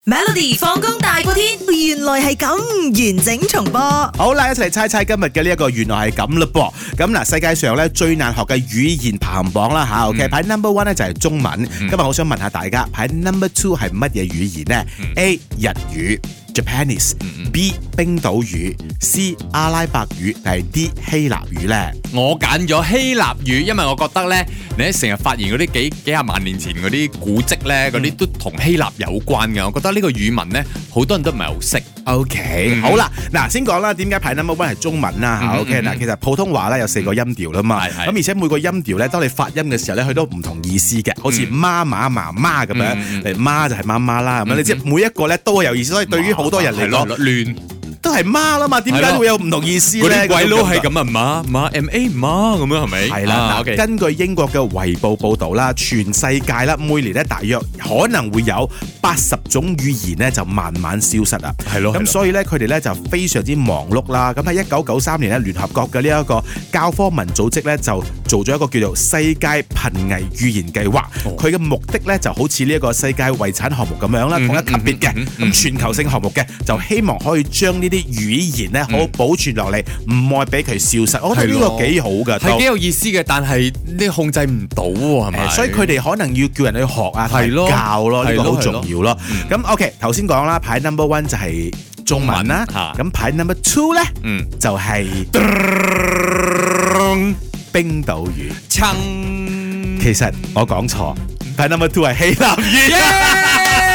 Melody 放工大過天，原來係咁完整重播。 好啦，一齊嚟猜猜今日嘅呢一個原來係咁嘞噃。咁嗱，世界上咧最難學嘅語言排行榜啦吓 ，OK，排 number one 咧就係中文。今日我想問下大家，排 number two 係乜嘢語言呢？ A 日語 Japanese，B 冰島語，C 阿拉伯語，定係 D 希臘語呢？ 我揀咗希臘語，因為我覺得咧，你成日發現嗰啲幾廿萬年前嗰啲古蹟咧，嗰啲都同希臘有關嘅。我覺得呢個語文咧，好多人都唔係好識。 OK，好啦，嗱先講啦，點解排 number one 係中文啦嚇？OK，嗱其實普通話咧有4個音調啦嘛，咁而且每個音調咧，當你發音嘅時候咧，佢都唔同意思嘅，好似媽媽媽媽咁樣，媽就係媽媽啦咁樣，你知每一個咧都有意思，所以對於好多人嚟講，亂都係媽啦嘛，點解會有唔同意思咧？ 嗰啲鬼佬係咁啊，媽 MA 媽咁樣係咪？ 係啦，根據英國嘅《衛報》報導啦，全世界啦每年咧大約可能會有80種語言咧就慢慢消失啊。 係咯， 咁所以咧佢哋咧就非常之忙碌啦。咁喺1993年咧，聯合國嘅呢一個教科文組織咧就做咗一個叫做世界瀕危語言計劃。佢嘅目的咧就好似呢一個世界遺產項目咁樣啦，同一級別嘅，咁全球性項目嘅，就希望可以將呢啲語言咧好好保存落嚟，唔愛俾佢消失。我覺得呢個幾好㗎， 係幾有意思嘅，但係你控制唔到喎，係咪？ 所以佢哋可能要叫人去學啊，教咯，呢個好重要咯。咁 OK， 頭先講啦，排 number one 就係中文啦，咁排 number two 咧，就係冰島語。其實我講錯，排 number two 係希臘語。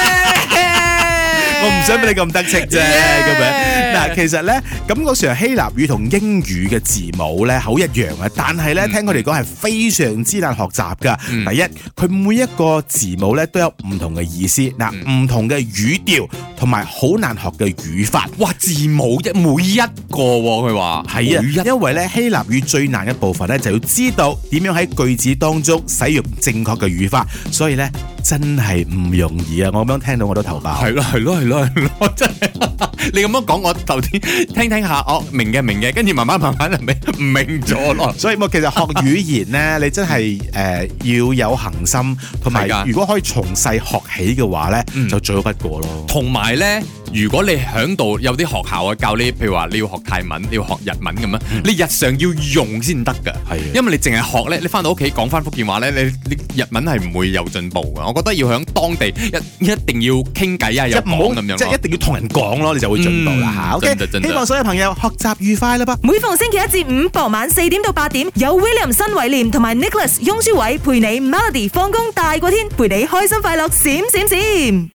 我唔想俾你咁得戚啫，咁樣嗱，其實咧感覺上希臘語同英語嘅字母咧好一樣啊，但係咧聽佢哋講係非常之難學習噶。第一，佢每一個字母咧都有唔同嘅意思，嗱，唔同嘅語調同埋好難學嘅語法。 哇，字母每一個佢話係啊，因為咧希臘語最難嘅部分咧就要知道點樣喺句子當中使用正確嘅語法，所以咧真係唔容易啊！我咁樣聽到我都頭爆。 係咯，真係你咁樣講，我頭先聽下，我明嘅，跟住慢慢係咪唔明咗咯？ 所以其實學語言咧，你真係要有恒心，同埋如果可以從細學起嘅話咧，就最好不過咯。 同埋咧，如果你響度有啲學校啊教你，譬如話你要學泰文，你要學日文咁樣，你日常要用先得噶。係，因為你淨係學咧，你翻到屋企講翻福建話咧，你日文係唔會有進步噶。我覺得要響當地一定要傾偈啊，有講咁樣， 即係一定要同人講咯，你就會進步啦嚇。OK，希望所有朋友學習愉快啦噃。 每逢星期一至五傍晚4點到8點，有 William 新偉廉同埋 Nicholas 雍舒偉陪你 Melody 放工大過天，陪你開心快樂閃閃閃。